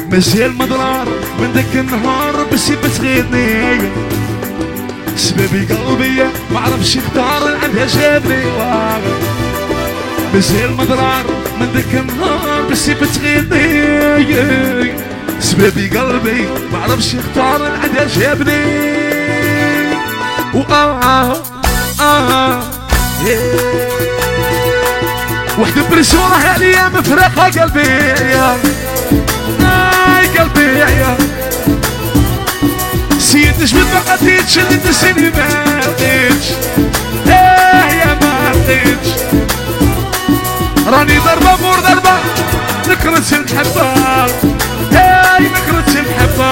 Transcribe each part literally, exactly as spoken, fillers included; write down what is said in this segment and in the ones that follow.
مازال مضرار من ذاك النهار بس بتغيرني سبابي قلبي ما عرفش يختار عندها جابني مازال مضرار من ذاك النهار بس بتغيرني سبابي قلبي ما عرفش يختار عندها جابني وآه آه آه وحدة بريسيون راح عليا مفرقة قلبي يا اي قلبي يا سيد نجمت ما قديتش اللي تسيني ما قديتش ايه يا ما قديتش راني ضربة مور ضربة نكرت المحبة اي نكرت المحبة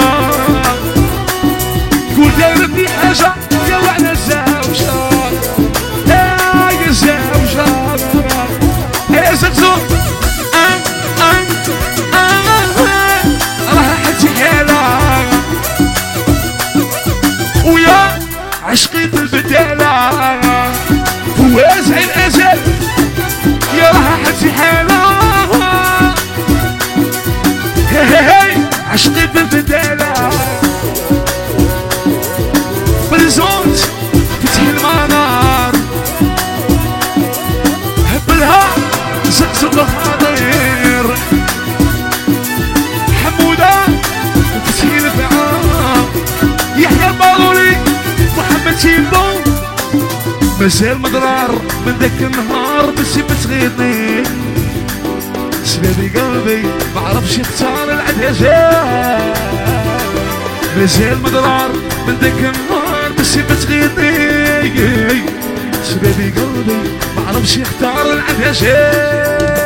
تقول دايرتني حاجة يا وعلى الزوجة اي الزوجة يا زقزوق ام ام ام راح حتي حالة ويا عشقي بالبدالة وازع الازل يا راح حتي حالة هي هي هي عشقي بالبدالة بالزوج فتح المنار هبلها زقزق الخضير حمودة وفتحي الفعام يحيى البارولي محمد تيبو مازال مضرار من ذاك النهار بس بتغيرني سبابي قلبي ما عرفش يختار العدجان مازال مضرار من ذاك النهار بس بتغيرني سبابي قلبي ما عرفش يختار العدجان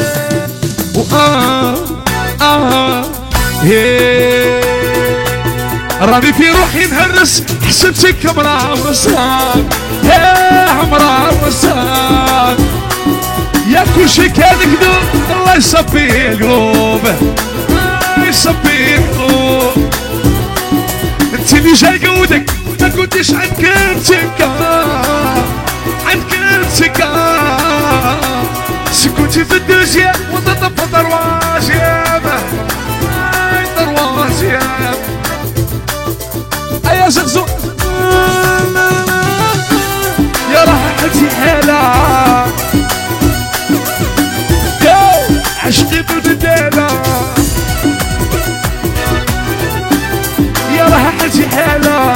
وآه آه هي راني في روحي نهرس حسبتك امرأة ورصان يا امرأة ورصان يا كل شي كان كذوب الله يصفي القلوب الله يصفي القلوب انت اللي جاي قودك ما كنتش عند كلمتك عند كلمتك سكنتي في الدوزيام وتطفى دروازيام اي دروازيام ايا زقزق يا راح حتي حالة يا عشقي بالبدالة يا راح حتي حالة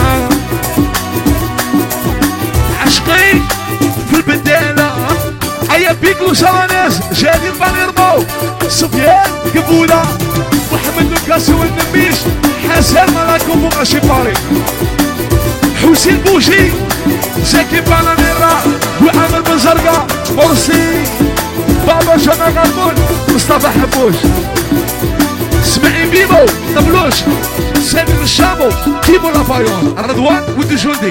عشقي في البدالة ايا بيكلو سواناز جاني البانيرمو سفيان قبولة محمد لوكاس والنبيش حسن ملاكم وغاشي باري حسين بوشي زكي بانانيرا وعمل بن زرقا مرسي بابا شنا غربون مصطفى حبوش اسماعيل بيبو طبلوش سامي الشامو كيبو لافايون الرضوان والدجوندي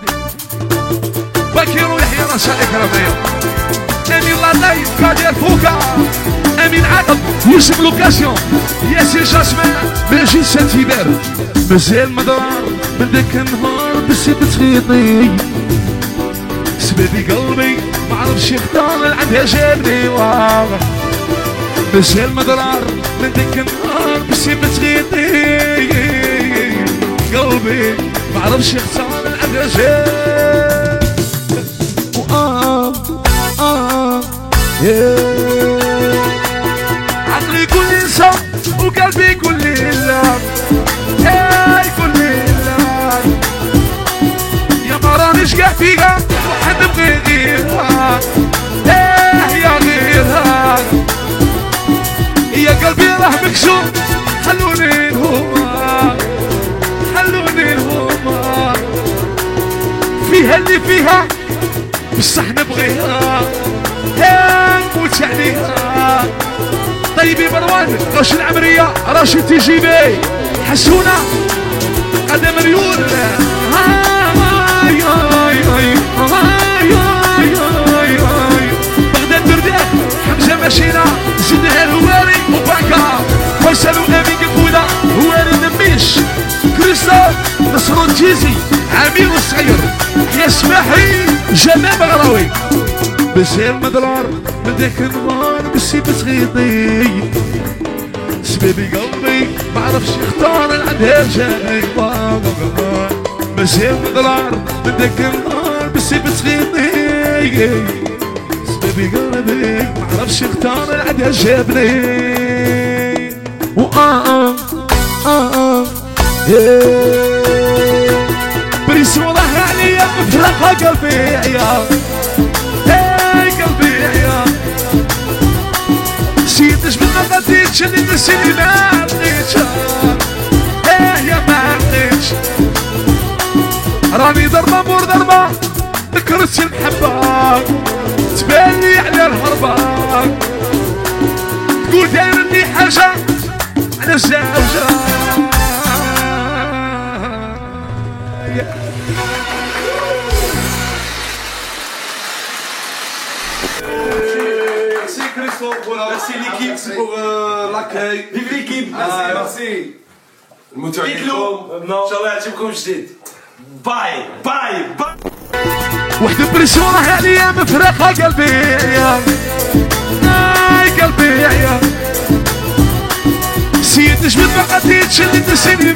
باكيرو يحيى رشا اكراميه امين لاطاي قادر فوكا امين عقب يوسف لوكاسيون ياسر جاسمان ماجي سانتيبار مازال مضرار من ذاك النهار بس بتغيطني سبابي قلبي ما عرفش يختار عندها جابني واضح مازال مضرار من ذاك النهار بس بتغيطني قلبي ما عرفش يختار عندها جابني وآه آه عقلي كل انسان وقلبي كل اللام هاي كل اللام يا ما رانيش قاع فيها وحد بغي غيرها ايه يا غيرها يا قلبي راه مكسور خلوني الهما خلوني الهما فيها اللي فيها بصح نبغيها يا نموت عليها طيبي مروان راش العمرية راشي تيجيبي حسونة قدم ريول هاي هاي هاي هاي هاي هاي بغداد برداح حمزة ماشينا زدها الهواري وباكا فيصل وامين قبودة هواري نميش كريستوف نصر الجيزي عمير الصغير يا سماحي جمال بغراوي مازال مضرار من ذاك النهار بس بتغيطني سبابي قلبي ما عرفش يختار عندها جاي ماشي مضرار من داك النهار بسي بتغيبني سبابي قلبي ما عرفش يختار عندها جابني وآه آه بريس والله عليا مفرقة قلبي يا قلبي يا نسيتش من ما غاديتش اللي نسيني ما عرفتش ايه يا ما عرفتش راني ضربة مور ضربة ذكرت المحبة تبانلي على الهربة تقول دايرني حاجة على زوجة Merci l'équipe pour euh, l'accueil. Vive l'équipe. Merci, ah, merci. المتابعين ان شاء الله يعجبكم جديد. باي باي باي. وحدة بريسيون راح عليا مفرقة قلبي يا قلبي يا نسيتش من ما غاديتش اللي نسيني